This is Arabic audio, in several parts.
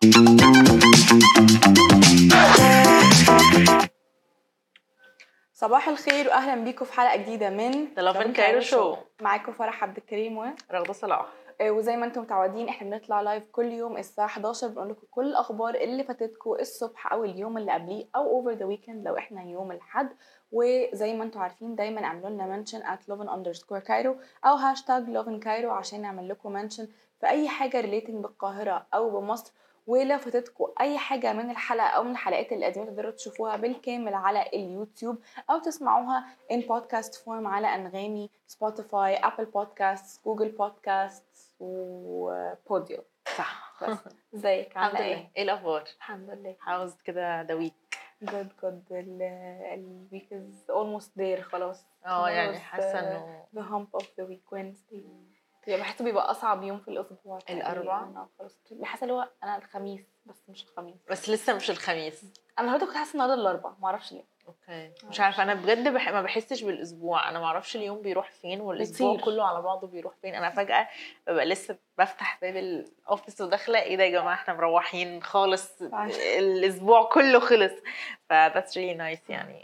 صباح الخير واهلا بيكم في حلقه جديده من The Love in Cairo Show. معاكم فرح عبد الكريم ورغدة صلاح. وزي ما انتم متعودين احنا بنطلع لايف كل يوم الساعه 11 بنقول لكم كل الاخبار اللي فاتتكم الصبح او اليوم اللي قبليه او اوفر ذا ويكند لو احنا يوم الاحد. وزي ما انتم عارفين دايما اعملوا لنا منشن @lovin_cairo او #lovincairo عشان نعمل لكم منشن في اي حاجه ريليتنج بالقاهره او بمصر. ولو فاتتكم اي حاجه من الحلقه او من الحلقات القديمه تقدروا تشوفوها بالكامل على اليوتيوب او تسمعوها in podcast form على انغامي، سبوتيفاي، ابل بودكاست، جوجل بودكاست وبوديو. صح. ازيك الحمد عامله لله. ايه الاخبار؟ الحمد لله. عاوز كده دويك. good الويك is almost there خلاص. يعني حاسه انه the hump of the week Wednesday. بحسه بيبقى اصعب يوم في الاسبوع الاربعاء. خلاص بحس اللي هو انا الخميس بس مش الخميس، بس لسه مش الخميس. انا النهارده كنت حاسه النهارده الاربعاء ما اعرفش ليه. اوكي مش عارفه انا بجد ما بحسش بالاسبوع، انا ما اعرفش اليوم بيروح فين والاسبوع بيطير. كله على بعضه بيروح فين. انا فجاه ببقى لسه بفتح باب الاوفيس وداخله ايه ده يا جماعه احنا مروحين خالص الاسبوع كله خلص. ف that's really nice يعني.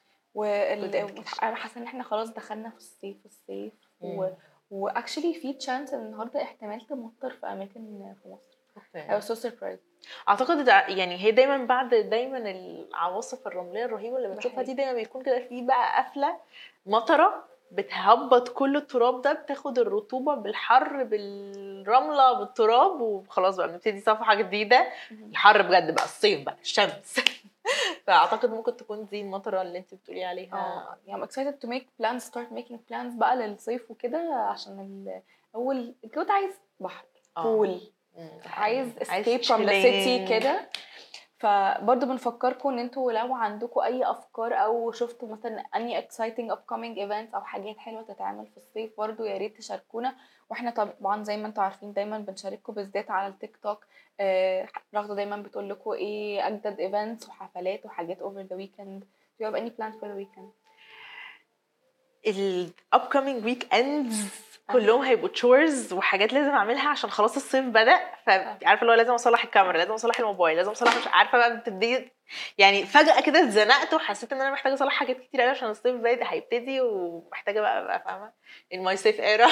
انا حاسه ان احنا خلاص دخلنا في الصيف واكشلي في تشانس ان النهارده احتمال تمطر في اماكن في مصر. اوكي. سو سربرايز. اعتقد يعني هي دايما بعد العواصف الرمليه الرهيبه اللي بنشوفها دي دايما بيكون كده في بقى قفله مطره بتهبط كل التراب ده، بتاخد الرطوبه بالحر بالرمله بالتراب وخلاص بقى بنبتدي صفحه جديده. الحر بجد بقى الصيف بقى الشمس. فاعتقد ممكن تكون دي المطره اللي انت بتقولي عليها. يعني excited to make plans start making plans بقى للصيف وكده عشان اول الجو عايز بحر بول، عايز escape from the city كده. فبرضه بنفكركم ان انتوا لو عندكم اي افكار او شفتوا مثلا اني exciting upcoming events او حاجات حلوه تتعمل في الصيف برضه يا ريت تشاركونا. واحنا طبعا زي ما انتوا عارفين دايما بنشارككم بالذات على التيك توك. رغده دايما بتقول لكم ايه اجدد events وحفلات وحاجات over the weekend. Do you have any plans for the weekend؟ upcoming weekends كلهم هيبقوا chores وحاجات لازم اعملها عشان خلاص الصيف بدأ. فعارفه اللي هو لازم اصلح الكاميرا، لازم اصلح الموبايل، لازم اصلح مش عارفه بقى بتبتدي يعني فجأة كده اتزنقت وحسيت ان انا محتاجه اصلح حاجات كتير قوي عشان الصيف بادئ هيبتدي ومحتاجه بقى فاهمه in my safe era.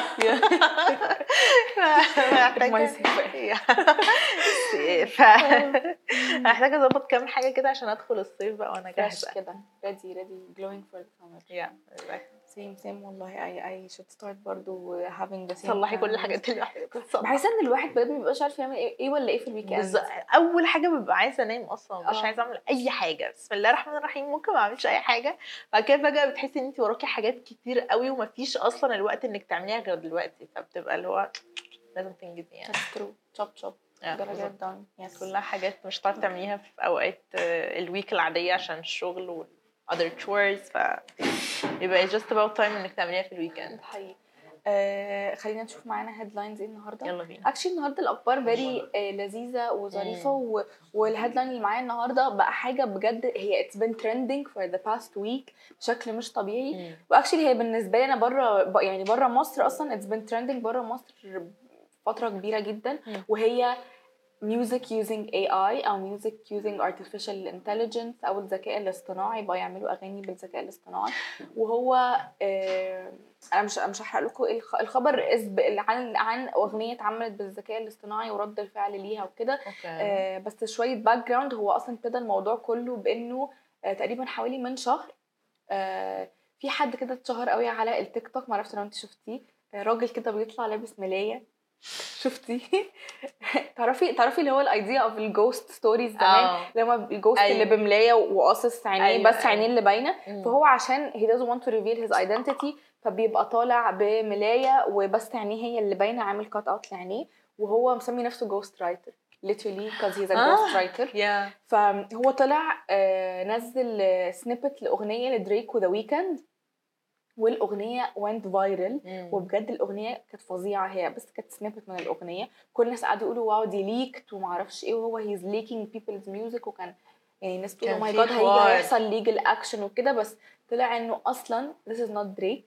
محتاجه اظبط كام حاجه كده عشان ادخل الصيف بقى وانا جاهزه كده ready glowing for the summer. same والله I should start برضو having the same. صلحي كل الحاجات اللي بحس ان الواحد بجد ما بيبقاش عارف يعمل ايه ولا ايه في الويكند. اول حاجه ببقى عايزه انام اصلا مش عايزه اعمل اي حاجه. بسم الله الرحمن الرحيم ممكن ما اعملش اي حاجه. بعد كده فجاه بتحسي ان انت وراكي حاجات كتير قوي ومفيش اصلا الوقت انك تعمليها غير دلوقتي، فبتبقى اللي هو لازم تنجزي يعني. chop كلها حاجات مش هتعرفي تعمليها في اوقات الويك العاديه عشان الشغل و other chores. يبقى just about time انك تعمليها في الويكند. حقيقي. خلينا نشوف معانا هيدلاينز ايه النهارده. يلا بينا. اكشلي النهارده الاخبار فيري لذيذه وظريفه والهيدلاين اللي معايا النهارده بقى حاجه بجد هي it's been trending for the past week بشكل مش طبيعي. واكشلي هي بالنسبه لي انا بره مصر اصلا it's been trending بره مصر فتره كبيره جدا. وهي music using AI أو music using artificial intelligence أو الذكاء الاصطناعي بقى يعملوا أغاني بالذكاء الاصطناعي. وهو أنا مش هحرق لكم الخبر عن أغنية اتعملت بالذكاء الاصطناعي ورد الفعل ليها وكده. بس شوية باك جراوند. هو أصلا ابتدى الموضوع كله بأنه تقريبا حوالي من شهر في حد كده اتشهر قوي على التيك توك، معرفش لو انت شفتيه. راجل كده بيطلع لابس ملاية. شفتي؟ تعرفي اللي هو الايديا اوف الجوست ستوريز زمان لما الجوست اللي بملايه وقاصص عينيه بس عينيه اللي باينه. فهو عشان he doesn't want to reveal his identity فبيبقى طالع بملايه وبس عينيه هي اللي باينه، عامل كات اوت لعينيه وهو مسمي نفسه جوست رايتر literally because he's a ghost writer. فهو طلع نزل سنيبت لاغنيه لدريك وذا ويكند والاغنيه went viral. وبجد الاغنيه كانت فظيعه، هي بس كانت سنيبت من الاغنيه. كل الناس قعدوا يقولوا واو دي ليكت وما اعرفش ايه وهو he's leaking people's music وكان يعني الناس بتقول oh my god هيحصل legal action وكده. بس طلع انه اصلا this is not Drake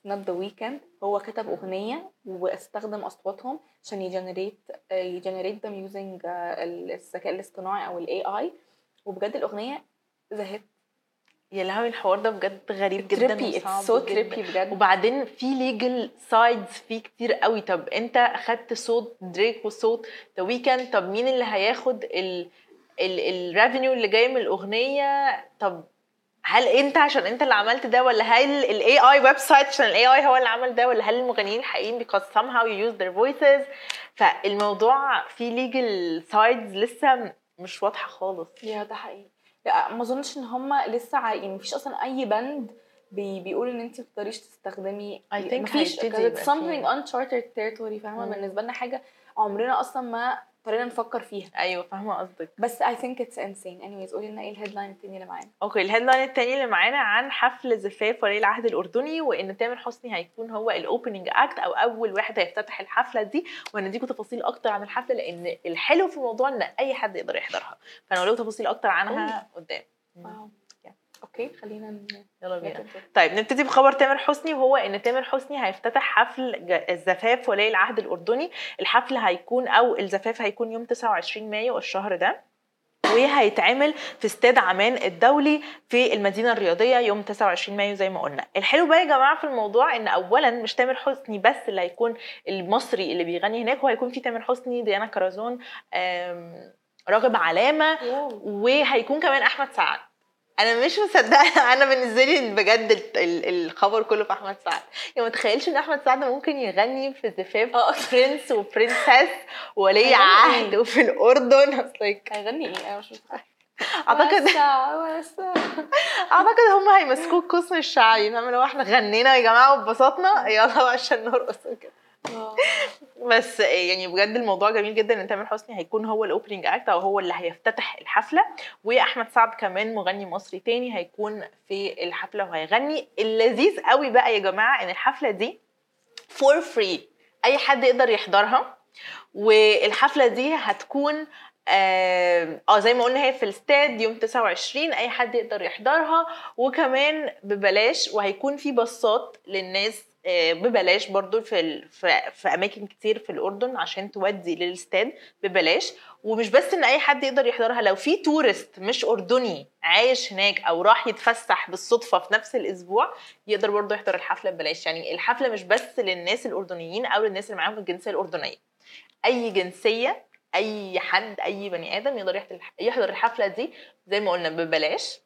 not the weekend. هو كتب اغنيه واستخدم اصواتهم عشان يجنريت them using الذكاء الاصطناعي او الاي اي. وبجد الاغنيه زهقت. يا لهوي الحوار ده بجد غريب جدا تريبي وصعب سو جدا. تريبي بجد. وبعدين في ليجل سايدز فيه كتير قوي. طب انت اخدت صوت دريك وصوت ذا ويكند، طب مين اللي هياخد الريفينيو اللي جاي من الاغنيه؟ طب هل انت عشان انت اللي عملت ده، ولا هل الاي اي ويب سايت عشان الاي اي هو اللي عمل ده، ولا هل المغنيين الحقيقيين because somehow you use their voices؟ فالموضوع فيه legal sides لسه مش واضحه خالص. يا ده حقيقي. لا ما اظنش ان هم لسه يعني مفيش اصلا اي بند بيقول ان انت ما تقدريش تستخدمي. I think مفيش هيبتدي it's يبقى something فيه. uncharted territory. فاهمه؟ بالنسبه لنا حاجه عمرنا اصلا ما اضطرينا نفكر فيها. ايوه فاهمه قصدك. بس I think it's insane. anyways قولي لنا ايه الهيدلاين التاني اللي معانا. اوكي الهيدلاين التاني اللي معانا عن حفل زفاف ولي العهد الاردني، وان تامر حسني هيكون هو الاوبننج اكت او اول واحد هيفتتح الحفله دي. وهنديكم تفاصيل اكتر عن الحفله، لان الحلو في الموضوع ان اي حد يقدر يحضرها، فانا لو تفاصيل اكتر عنها قدام. واو. اوكي خلينا يلا بينا. طيب نبتدي بخبر تامر حسني، وهو ان تامر حسني هيفتتح حفل الزفاف ولي العهد الاردني. الحفل هيكون او الزفاف هيكون يوم 29 مايو الشهر ده، وهيتعمل في استاد عمان الدولي في المدينه الرياضيه يوم 29 مايو زي ما قلنا. الحلو بقى يا جماعه في الموضوع ان اولا مش تامر حسني بس اللي هيكون المصري اللي بيغني هناك، هو هيكون في تامر حسني، ديانا كرزون، راغب علامه، وهيكون كمان احمد سعد. انا مش مصدقه. انا بالنسبه لي بجد الخبر كله في احمد سعد. يعني ما تخيلش ان احمد سعد ممكن يغني في زفاف برنس وبرنسس ولي عهد وفي الاردن. هيغني ايه؟ انا مش متخيله. اعتقد هم هيمسكوه القسم الشعبي، فاهمه؟ لو احنا غنينا يا جماعه واتبسطنا يلا عشان نرقص كده. بس يعني بجد الموضوع جميل جدا ان تامر حسني هيكون هو الاوبننج اكت او هو اللي هيفتتح الحفله، واحمد سعد كمان مغني مصري تاني هيكون في الحفله وهيغني. اللذيذ قوي بقى يا جماعه ان الحفله دي فور فري، اي حد يقدر يحضرها. والحفله دي هتكون زي ما قلنا هي في الاستاد يوم 29، اي حد يقدر يحضرها وكمان ببلاش. وهيكون في باصات للناس ببلاش برضو في اماكن كتير في الاردن عشان تودي للاستاد ببلاش. ومش بس ان اي حد يقدر يحضرها، لو في تورست مش اردني عايش هناك او راح يتفسح بالصدفه في نفس الاسبوع يقدر برضو يحضر الحفله ببلاش. يعني الحفله مش بس للناس الاردنيين او للناس اللي معاهم الجنسيه الاردنيه، اي جنسيه، اي حد، اي بني ادم يقدر يحضر الحفله دي زي ما قلنا ببلاش.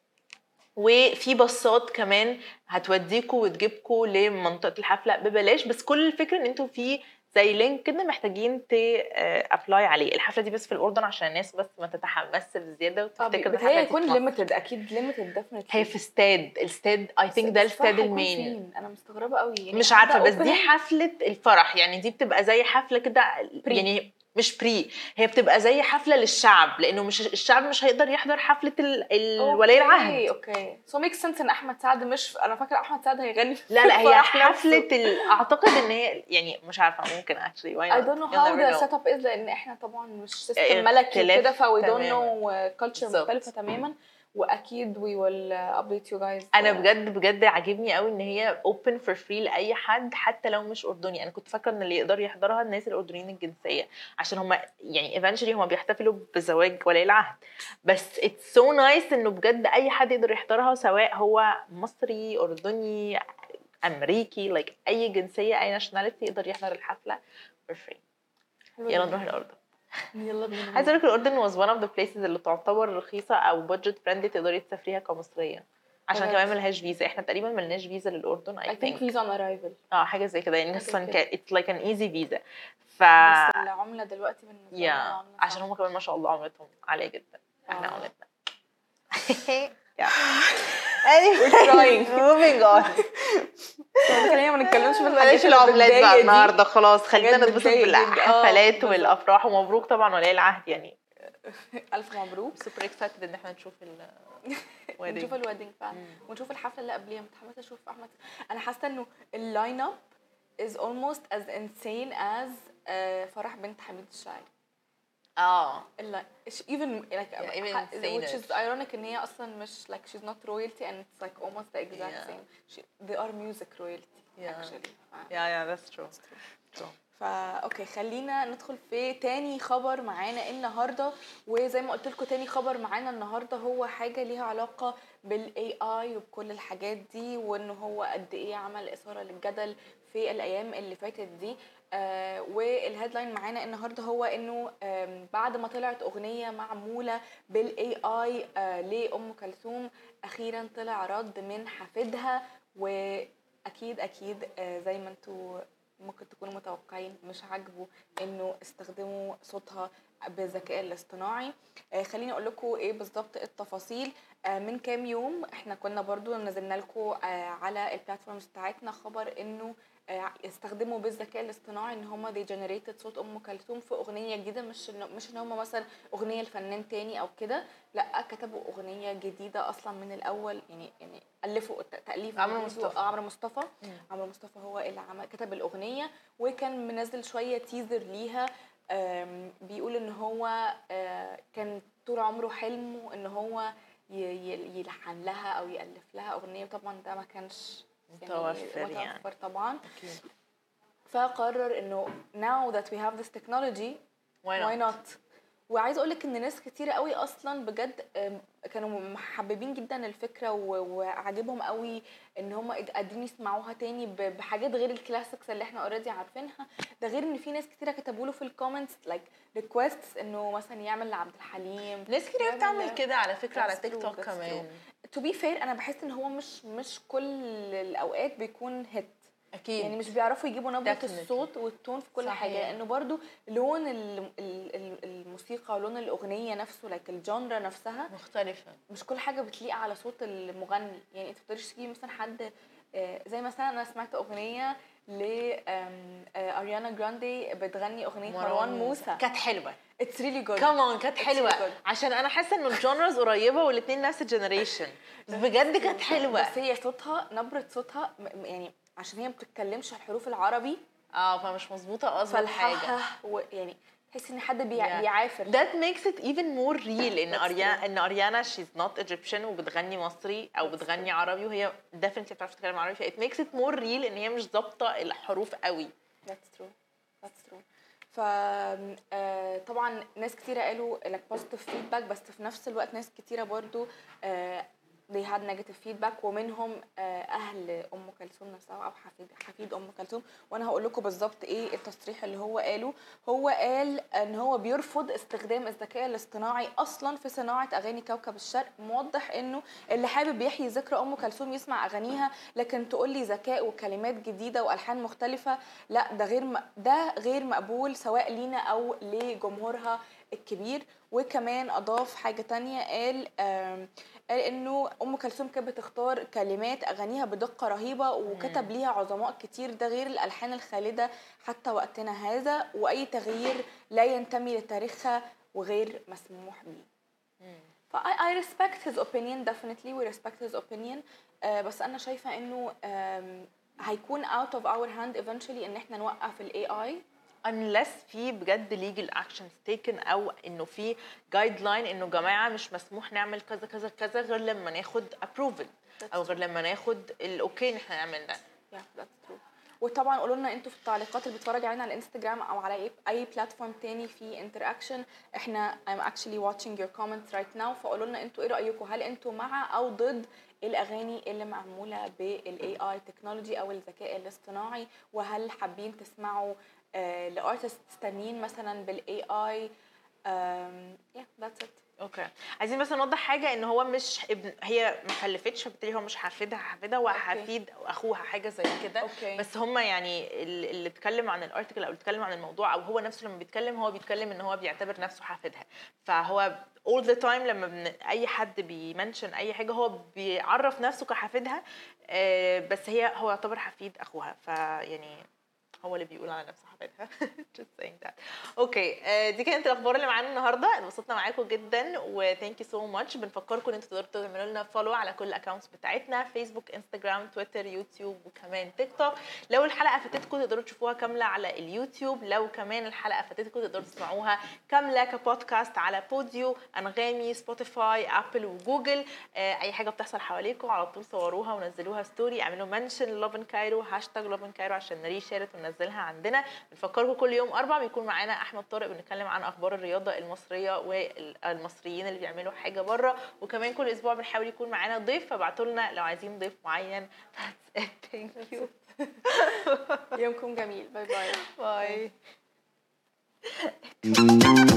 وفي باصات كمان هتوديكوا وتجيبكوا لمنطقه الحفله ببلاش. بس كل الفكره ان انتوا في زي لينك كده محتاجين ابلاي عليه. الحفله دي بس في الاردن عشان الناس بس ما تتحمسش بزياده وتفتكر الحفله هيكون ليميتد. اكيد ليميتد ديفينتلي. هي في الاستاد اي ثينك ده الاستاد المين. انا مستغربه قوي يعني مش عارفه. بس دي حفله الفرح، يعني دي بتبقى زي حفله كده يعني مش بري، هي بتبقى زي حفله للشعب، لانه مش الشعب مش هيقدر يحضر حفله الولي العهد. اوكي سو ميك سنس ان احمد سعد مش، انا فاكره احمد سعد هيغني لا هي حفله اعتقد ان هي يعني مش عارفه ممكن actually why I don't know how the setup is، لان احنا طبعا مش سيستم ملكي كده فوي دونت نو كلتشر مختلفه تماما. واكيد we will update you guys. انا بجد عاجبني قوي ان هي open for free لاي حد حتى لو مش اردني. انا كنت فاكره ان اللي يقدر يحضرها الناس الاردنيين الجنسيه عشان هم يعني eventually هم بيحتفلوا بزواج ولي العهد. بس it's so nice انه بجد اي حد يقدر يحضرها سواء هو مصري، اردني، امريكي، like اي جنسيه اي nationality يقدر يحضر الحفله for free. يلا نروح الاردن. يلا بينا. عايزه اقول لك الاردن was one of the places اللي تعتبر رخيصه او budget friendly تقدري تسافريها كمصريه، عشان كمان ملهاش فيزا. احنا تقريبا ملناش فيزا للاردن. I think visa on arrival. حاجه زي كده يعني اصلا it's like an easy visa. بس العمله دلوقتي بالنسبه لنا عشان هم كمان ما شاء الله عملتهم عاليه جدا. احنا عملتنا we're trying. moving on. خلينا ما نتكلمش في بلاش العملات بقى النهارده، خلاص خلينا نتبسط بالحفلات والافراح. ومبروك طبعا ولي العهد، يعني الف مبروك. سوبر اكسايتد ان احنا نشوف نشوف الويدنج فعلا ونشوف الحفله اللي قبليها. متحمسه اشوف احمد. انا حاسه انه اللاين اب is almost as insane as فرح بنت حميد الشاعري. even which is ironic ان هي اصلا مش like she's not royalty and it's like almost the exact same. They are music royalty. actually. yeah that's true. اوكي خلينا ندخل في تاني خبر معانا النهارده. وزي ما قلت لكم تاني خبر معانا النهارده هو حاجه ليها علاقه بالاي اي وبكل الحاجات دي، وان هو قد ايه عمل اثاره للجدل في الايام اللي فاتت دي. والهيدلاين معانا النهارده هو انه بعد ما طلعت اغنيه معموله بالاي اي لام كلثوم، اخيرا طلع رد من حفيدها. واكيد زي ما انتوا ممكن تكونوا متوقعين مش عاجبه انه استخدموا صوتها بالذكاء الاصطناعي. خليني اقول لكم ايه بالظبط التفاصيل. من كام يوم احنا كنا برضو نزلنا لكم على البلاتفورمز بتاعتنا خبر انه استخدموا بالذكاء الاصطناعي ان هم they generated صوت ام كلثوم في اغنيه جديده، مش ان هم مثلا اغنيه لفنان تاني او كده، لا كتبوا اغنيه جديده اصلا من الاول. يعني الفوا تاليف عمرو مصطفى. عمرو مصطفى هو اللي كتب الاغنيه، وكان منزل شويه تيزر ليها. بيقول ان هو كان طول عمره حلمه ان هو يلحن لها او يالف لها اغنيه، وطبعا ده ما كانش متوفر طبعا. أكيد. فقرر انه now that we have this technology why not. وعايز اقولك ان ناس كتير قوي اصلا بجد كانوا محببين جدا الفكره وعاجبهم قوي ان هم قادرين يسمعوها تاني بحاجات غير الكلاسيكس اللي احنا اوريدي عارفينها. ده غير ان في ناس كتير كتبوا له في الكومنتس لايك ريكويستس انه مثلا يعمل لعبد الحليم. ناس كتير بتعمل كده على فكره على تيك توك كمان. تو بي فير انا بحس ان هو مش كل الاوقات بيكون هيت اكيد، يعني مش بيعرفوا يجيبوا نبره الصوت والتون في كل حاجه، لانه برضو لون الموسيقى ولون الاغنيه نفسه لايك الجانرا نفسها مختلفه، مش كل حاجه بتليق على صوت المغني. يعني انت بتقدرش تجيبي مثلا حد زي مثلا انا سمعت اغنيه ل اريانا جراندي بتغني اغنيه مروان موسى كانت حلوه. اتس ريلي جود كمان كانت حلوه عشان انا حاسه ان الجونرز قريبه والاثنين نفس الجنريشن، بجد كانت حلوه. بس هي صوتها نبره صوتها يعني عشان هي ما بتتكلمش الحروف العربي فمش مظبوطه اصلا حاجه يعني تحس ان حد بيعافر. that makes it even more real ان اريانا she's not Egyptian وبتغني مصري او بتغني عربي، وهي definitely بتعرف تتكلم عربي. it makes it more real ان هي مش ضابطه الحروف قوي. that's true. ف طبعا ناس كتيره قالوا like positive feedback، بس في نفس الوقت ناس كتيره برضو they had negative feedback، ومنهم اهل ام كلثوم نفسها او حفيد ام كلثوم. وانا هقول لكم بالظبط ايه التصريح اللي هو قاله. هو قال ان هو بيرفض استخدام الذكاء الاصطناعي اصلا في صناعه اغاني كوكب الشرق، موضح انه اللي حابب يحيي ذكرى ام كلثوم يسمع اغانيها، لكن تقول لي ذكاء وكلمات جديده والحان مختلفه لا، ده غير مقبول سواء لينا او لجمهورها الكبير. وكمان اضاف حاجه تانية، قال انه ام كلثوم كانت بتختار كلمات اغانيها بدقه رهيبه وكتب ليها عظماء كتير، ده غير الالحان الخالده حتى وقتنا هذا، واي تغيير لا ينتمي لتاريخها وغير مسموح به. I respect his opinion definitely, we respect his opinion. بس انا شايفه انه هيكون out of our hand eventually ان احنا نوقف ال AI unless في بجد legal actions taken او انه في guideline انه جماعه مش مسموح نعمل كذا كذا كذا غير لما ناخد approval او غير لما ناخد الاوكي ان احنا نعمل ده. yeah that's true. وطبعا قولوا لنا انتوا في التعليقات اللي بتتفرجوا علينا على الانستجرام او على اي بلاتفورم تاني في interaction. احنا I'm actually watching your comments right now، فقولوا لنا انتوا ايه رايكم، هل انتوا مع او ضد الاغاني اللي معموله بالاي اي تكنولوجي او الذكاء الاصطناعي، وهل حابين تسمعوا لارتست تانيين مثلا بالاي اي. yeah that's it. اوكي، عايزين بس نوضح حاجه ان هو مش هي ما خلفتش، فبالتالي هو مش حفيدها وحفيد اخوها حاجه زي كده. بس هم يعني اللي اتكلم عن الارتكل او اتكلم عن الموضوع او هو نفسه لما بيتكلم هو بيتكلم ان هو بيعتبر نفسه حفيدها، فهو all the time لما اي حد بيمنشن اي حاجه هو بيعرف نفسه كحفيدها، بس هو يعتبر حفيد اخوها. فيعني هو اللي بيقول على نفسه حبيبها. just saying that. اوكي دي كانت الاخبار اللي معانا النهارده. اتبسطنا معاكم جدا وثانك يو سو ماتش. بنفكركم ان انتوا تقدروا تعملوا لنا فولو على كل الاكونتس بتاعتنا، فيسبوك، انستجرام، تويتر، يوتيوب، وكمان تيك توك. لو الحلقه فاتتكم تقدروا تشوفوها كامله على اليوتيوب، لو كمان الحلقه فاتتكم تقدروا تسمعوها كامله كبودكاست على بوديو، انغامي، سبوتيفاي، ابل وجوجل. اي حاجه بتحصل حواليكم على طول صوروها ونزلوها ستوري، اعملوا منشن لوفن كايرو #لوفن كايرو عشان نري شيرت وننزلها عندنا. بنفكركم كل يوم 4 بيكون معانا احمد طارق بنتكلم عن اخبار الرياضه المصريه والمصريين اللي بيعملوا حاجه بره، وكمان كل اسبوع بنحاول يكون معانا ضيف، فابعتوا لنا لو عايزين ضيف معين. That's it. Thank you. يومكم جميل. باي باي. باي.